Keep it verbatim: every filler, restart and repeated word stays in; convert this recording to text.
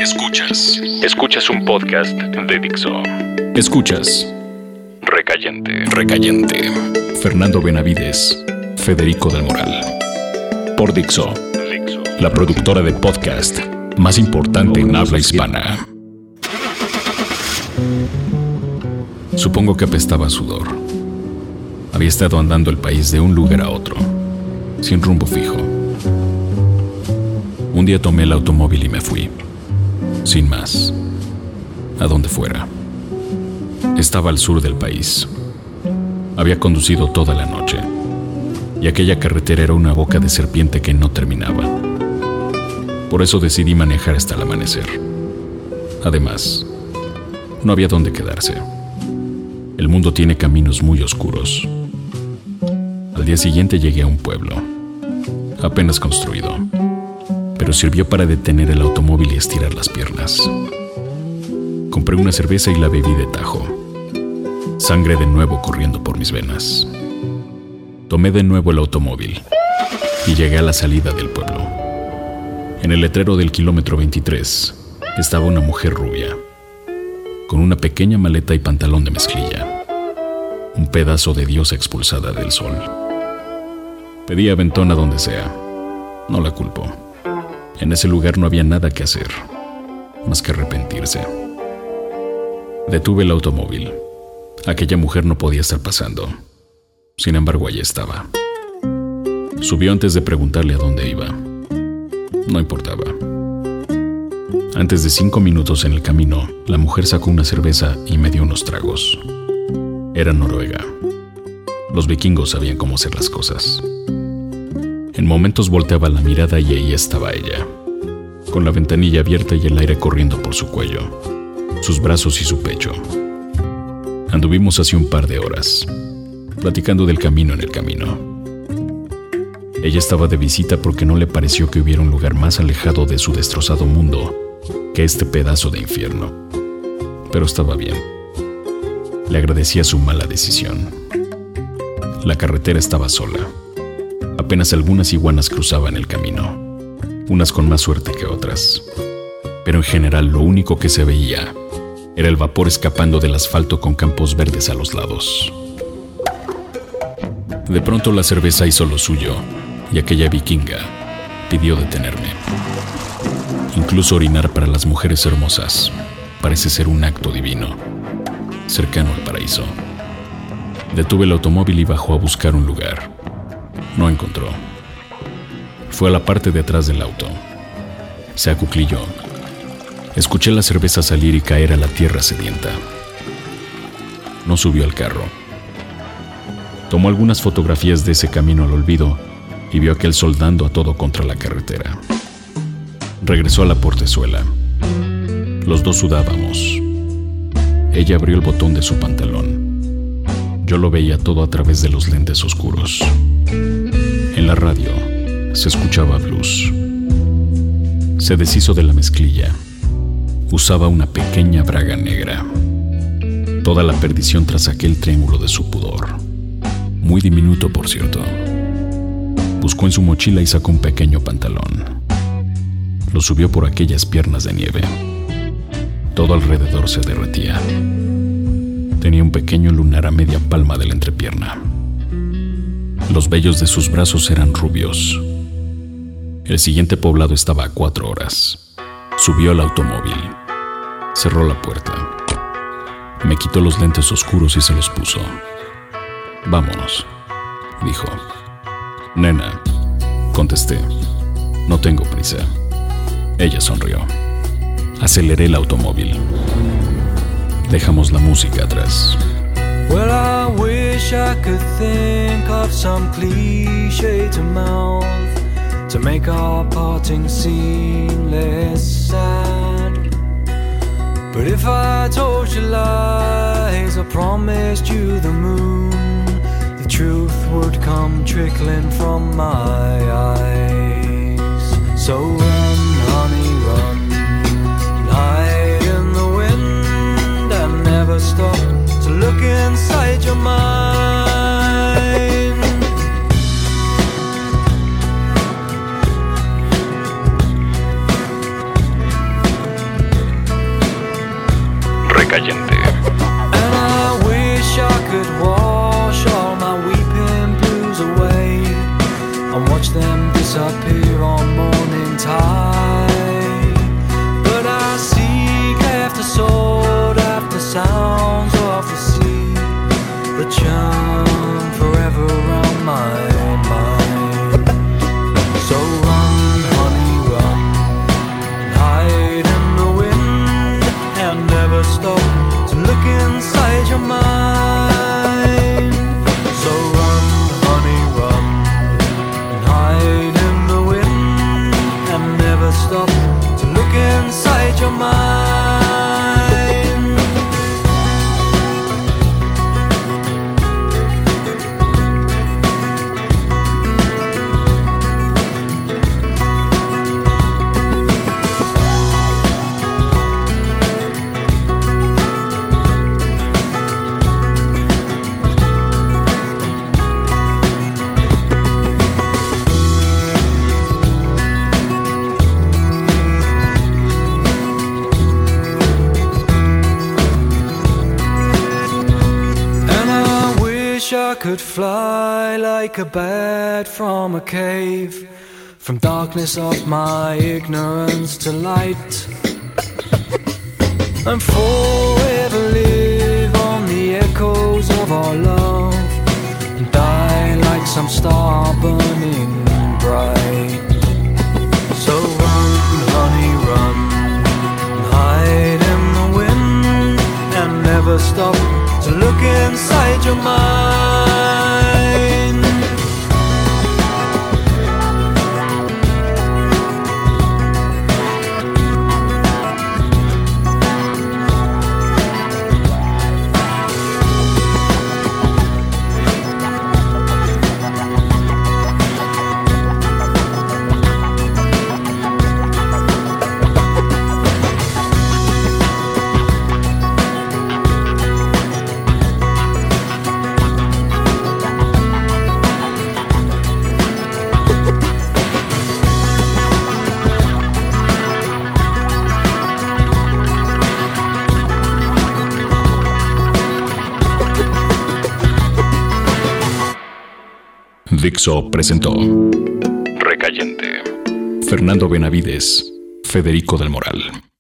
Escuchas. Escuchas un podcast de Dixo. Escuchas Recayente. Recayente. Fernando Benavides, Federico del Moral. Por Dixo, la productora de podcast más importante en habla hispana. Supongo que apestaba a sudor. Había estado andando el país de un lugar a otro, sin rumbo fijo. Un día tomé el automóvil y me fui, sin más, a donde fuera. Estaba al sur del país. Había conducido toda la noche, y aquella carretera era una boca de serpiente que no terminaba. Por eso decidí manejar hasta el amanecer. Además, no había dónde quedarse. El mundo tiene caminos muy oscuros. Al día siguiente llegué a un pueblo, apenas construido, pero sirvió para detener el automóvil y estirar las piernas. Compré una cerveza y la bebí de tajo. Sangre de nuevo corriendo por mis venas. Tomé de nuevo el automóvil y llegué a la salida del pueblo. En el letrero del kilómetro veintitrés estaba una mujer rubia, con una pequeña maleta y pantalón de mezclilla, un pedazo de diosa expulsada del sol. Pedí aventón a donde sea. No la culpo. En ese lugar no había nada que hacer, más que arrepentirse. Detuve el automóvil. Aquella mujer no podía estar pasando. Sin embargo, allí estaba. Subió antes de preguntarle a dónde iba. No importaba. Antes de cinco minutos en el camino, la mujer sacó una cerveza y me dio unos tragos. Era Noruega. Los vikingos sabían cómo hacer las cosas. En momentos volteaba la mirada y ahí estaba ella, con la ventanilla abierta y el aire corriendo por su cuello, sus brazos y su pecho. Anduvimos hace un par de horas, platicando del camino en el camino. Ella estaba de visita porque no le pareció que hubiera un lugar más alejado de su destrozado mundo que este pedazo de infierno. Pero estaba bien. Le agradecía su mala decisión. La carretera estaba sola. Apenas algunas iguanas cruzaban el camino, unas con más suerte que otras. Pero en general lo único que se veía era el vapor escapando del asfalto con campos verdes a los lados. De pronto la cerveza hizo lo suyo y aquella vikinga pidió detenerme. Incluso orinar para las mujeres hermosas parece ser un acto divino, cercano al paraíso. Detuve el automóvil y bajó a buscar un lugar. No encontró. Fue a la parte de atrás del auto. Se acuclilló. Escuché la cerveza salir y caer a la tierra sedienta. No subió al carro. Tomó algunas fotografías de ese camino al olvido y vio a aquel soldando a todo contra la carretera. Regresó a la portezuela. Los dos sudábamos. Ella abrió el botón de su pantalón. Yo lo veía todo a través de los lentes oscuros. En la radio se escuchaba blues. Se deshizo de la mezclilla. Usaba una pequeña braga negra. Toda la perdición tras aquel triángulo de su pudor. Muy diminuto, por cierto. Buscó en su mochila y sacó un pequeño pantalón. Lo subió por aquellas piernas de nieve. Todo alrededor se derretía. Tenía un pequeño lunar a media palma de la entrepierna. Los vellos de sus brazos eran rubios. El siguiente poblado estaba a cuatro horas. Subió al automóvil. Cerró la puerta. Me quitó los lentes oscuros y se los puso. Vámonos, dijo. Nena, contesté. No tengo prisa. Ella sonrió. Aceleré el automóvil. Dejamos la música atrás. Well, I wish I could think of some cliche to mouth to make our parting seem less sad. But if I told you lies, I promised you the moon, the truth would come trickling from my eyes. So run, honey, run, hide in the wind and never stop to look inside your mind. Recayente. And I wish I could wash all my weeping blues away and watch them disappear on morning tide. But I seek after sword, after sounds of the sea that churn forever around my mind. So run, honey, run, and hide in the wind, and never stop to look inside your mind. So run, honey, run, and hide in the wind, and never stop to look inside your mind. I could fly like a bat from a cave, from darkness of my ignorance to light, and forever live on the echoes of our love, and die like some star burning bright. So run, honey, run, and hide in the wind, and never stop to look inside your mind. Dixo presentó Recayente. Fernando Benavides, Federico del Moral.